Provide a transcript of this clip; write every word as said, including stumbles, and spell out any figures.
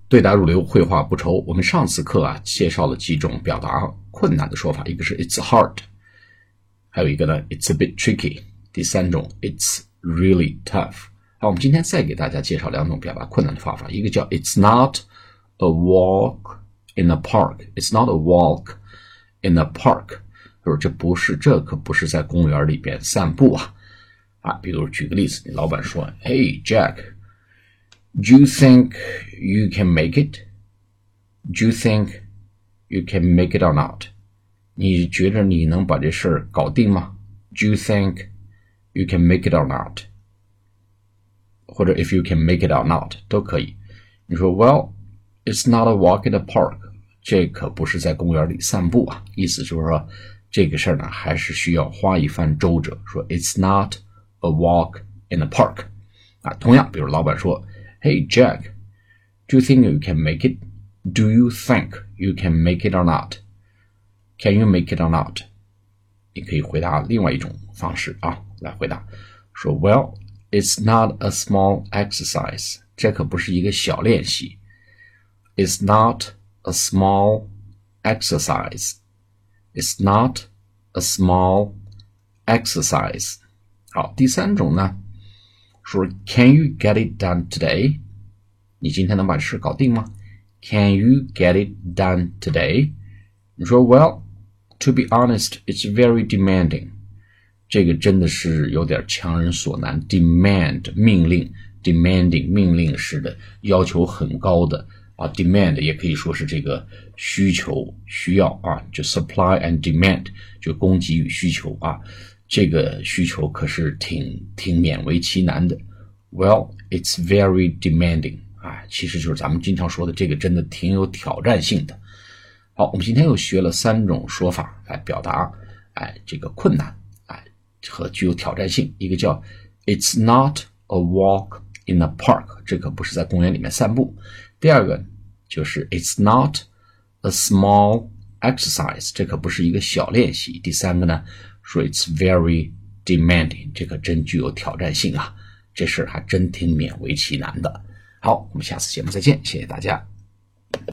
对答如流，绘画不愁。我们上次课啊介绍了几种表达困难的说法，一个是 it's hard， 还有一个呢 it's a bit tricky， 第三种 it's really tough。好，我们今天再给大家介绍两种表达困难的方法，一个叫 it's not a walk in a park， it's not a walk in a park， 就是这不是这可不是在公园里边散步啊啊，比如举个例子，你老板说 Hey Jack，Do you think you can make it? Do you think you can make it or not? 你觉得你能把这事儿搞定吗？ Do you think you can make it or not? 或者 if you can make it or not 都可以。你说 Well, it's not a walk in the park. 这可不是在公园里散步啊。意思就是说这个事儿呢还是需要花一番周折。说 It's not a walk in the park. 啊，同样比如老板说Hey Jack, do you think you can make it? Do you think you can make it or not? Can you make it or not? 你可以回答另外一种方式啊，来回答说 Well, it's not a small exercise. 这可不是一个小练习。It's not a small exercise. It's not a small exercise. 好，第三种呢说 Can you get it done today? 你今天能把这事搞定吗？ Can you get it done today? 你说 Well, to be honest, it's very demanding. 这个真的是有点强人所难。 Demand 命令 demanding 命令式的，要求很高的啊。Demand 也可以说是这个需求需要啊，就 supply and demand 就供给与需求啊。这个需求可是挺挺勉为其难的。 Well, it's very demanding. 啊，其实就是咱们经常说的这个真的挺有挑战性的。好，我们今天又学了三种说法来表达哎这个困难哎和具有挑战性。一个叫 It's not a walk in a park， 这可不是在公园里面散步。第二个就是 It's not a small exercise， 这可不是一个小练习。第三个呢说 It's very demanding， 这可真具有挑战性啊，这事还真挺勉为其难的。好，我们下次节目再见，谢谢大家。